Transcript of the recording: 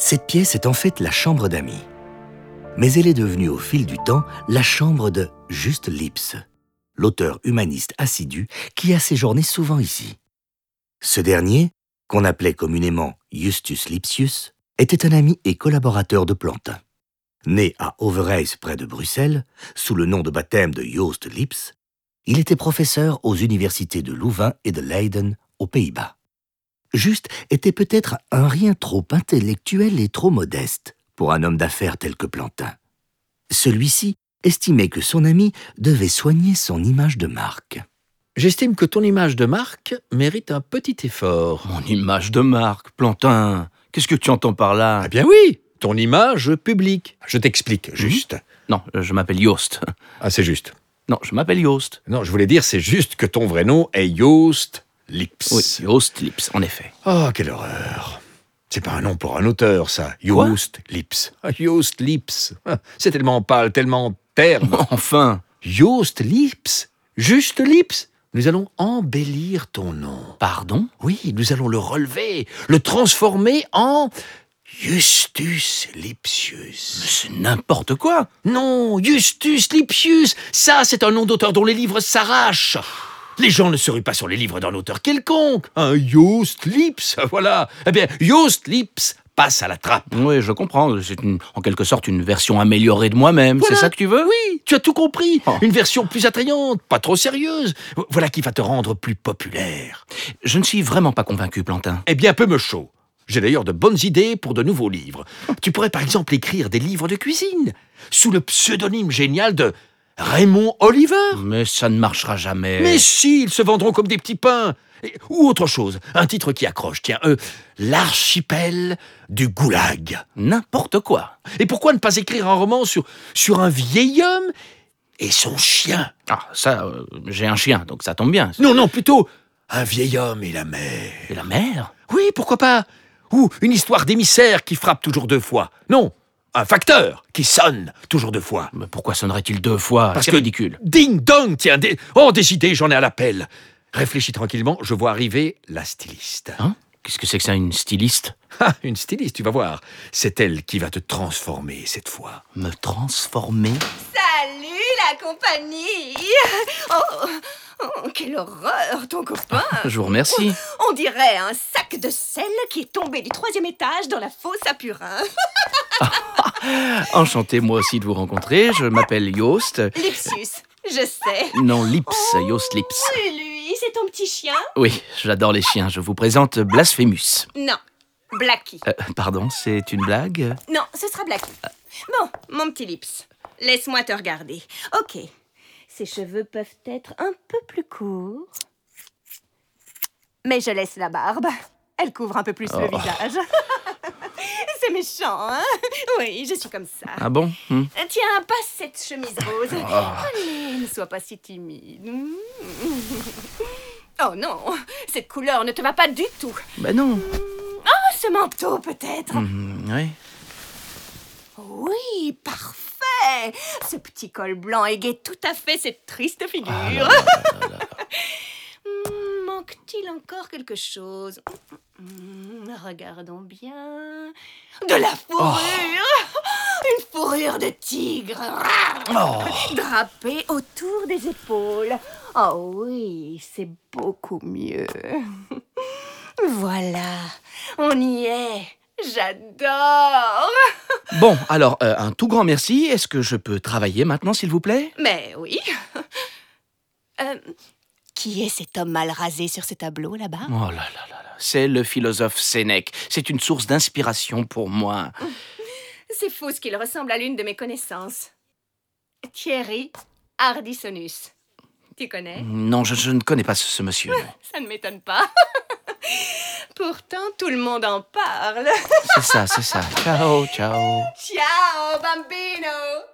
Cette pièce est en fait la chambre d'amis. Mais elle est devenue au fil du temps la chambre de Juste Lipse, l'auteur humaniste assidu qui a séjourné souvent ici. Ce dernier, qu'on appelait communément Justus Lipsius, était un ami et collaborateur de Plantin. Né à Overijse près de Bruxelles, sous le nom de baptême de Joost Lipse, il était professeur aux universités de Louvain et de Leiden, aux Pays-Bas. Juste était peut-être un rien trop intellectuel et trop modeste pour un homme d'affaires tel que Plantin. Celui-ci estimait que son ami devait soigner son image de marque. J'estime que ton image de marque mérite un petit effort. Mon image de marque, Plantin. Qu'est-ce que tu entends par là? Ah bien oui, ton image publique. Je t'explique, juste. Non, je m'appelle Joost. Ah, c'est juste. Non, je m'appelle Joost. Non, je voulais dire, c'est juste que ton vrai nom est Joost Lipse. Oui, Joost Lipse, en effet. Oh, quelle horreur. C'est pas un nom pour un auteur, ça. Joost Lipse. Ah, Joost Lipse. Ah, c'est tellement pâle, tellement terne. Enfin. Joost Lipse. Juste Lipse. Nous allons embellir ton nom. Pardon? Oui, nous allons le relever, le transformer en Justus Lipsius. Mais c'est n'importe quoi. Non, Justus Lipsius, ça c'est un nom d'auteur dont les livres s'arrachent. Les gens ne se ruent pas sur les livres d'un auteur quelconque. Un Joost Lipse, voilà. Eh bien, Joost Lipse passe à la trappe. Oui, je comprends. C'est en quelque sorte une version améliorée de moi-même. Voilà. C'est ça que tu veux? Oui, tu as tout compris. Oh. Une version plus attrayante, pas trop sérieuse. Voilà qui va te rendre plus populaire. Je ne suis vraiment pas convaincu, Plantin. Eh bien, peu me chaud. J'ai d'ailleurs de bonnes idées pour de nouveaux livres. Tu pourrais par exemple écrire des livres de cuisine, sous le pseudonyme génial de Raymond Oliver. Mais ça ne marchera jamais. Mais si, ils se vendront comme des petits pains. Ou autre chose, un titre qui accroche, tiens, l'archipel du goulag. N'importe quoi. Et pourquoi ne pas écrire un roman sur un vieil homme et son chien? Ah, ça, j'ai un chien, donc ça tombe bien. Non, plutôt un vieil homme et la mer. Et la mer? Oui, pourquoi pas? Ou une histoire d'émissaire qui frappe toujours 2 fois. Non, un facteur qui sonne toujours 2 fois. Mais pourquoi sonnerait-il 2 fois? Parce C'est que ridicule. Ding dong, tiens, des idées, j'en ai à l'appel. Réfléchis tranquillement, je vois arriver la styliste. Hein? Qu'est-ce que c'est que ça, une styliste? Ah, une styliste, tu vas voir. C'est elle qui va te transformer cette fois. Me transformer? Salut la compagnie! Oh, quelle horreur, ton copain! Je vous remercie. On dirait un sac de sel qui est tombé du 3e étage dans la fosse à purin. Enchanté moi aussi de vous rencontrer. Je m'appelle Joost. Lipsius, je sais. Non, Lipse, Joost Lipse. Lui, c'est ton petit chien? Oui, j'adore les chiens. Je vous présente Blasphémus. Non, Blackie. Pardon, c'est une blague? Non, ce sera Blackie. Bon, mon petit Lips, laisse-moi te regarder. Ok, ses cheveux peuvent être un peu plus courts. Mais je laisse la barbe. Elle couvre un peu plus le visage. C'est méchant, hein? Oui, je suis comme ça. Ah bon? Tiens, passe cette chemise rose. Allez, ne sois pas si timide. Oh non, cette couleur ne te va pas du tout. Ben non. Oh, ce manteau peut-être. Oui. Oui, parfait. Ce petit col blanc égaye tout à fait cette triste figure. Manque-t-il encore quelque chose? Regardons bien. De la fourrure. Une fourrure de tigre. Drapée autour des épaules. Oh oui, c'est beaucoup mieux. Voilà, on y est. J'adore. Bon, alors, un tout grand merci. Est-ce que je peux travailler maintenant, s'il vous plaît? Mais oui. Qui est cet homme mal rasé sur ce tableau, là-bas? Oh là là là là. C'est le philosophe Sénèque. C'est une source d'inspiration pour moi. C'est fou ce qu'il ressemble à l'une de mes connaissances. Thierry Ardissonus. Tu connais? Non, je ne connais pas ce monsieur. Non. Ça ne m'étonne pas. Pourtant, tout le monde en parle. C'est ça, c'est ça. Ciao, ciao. Ciao, bambino.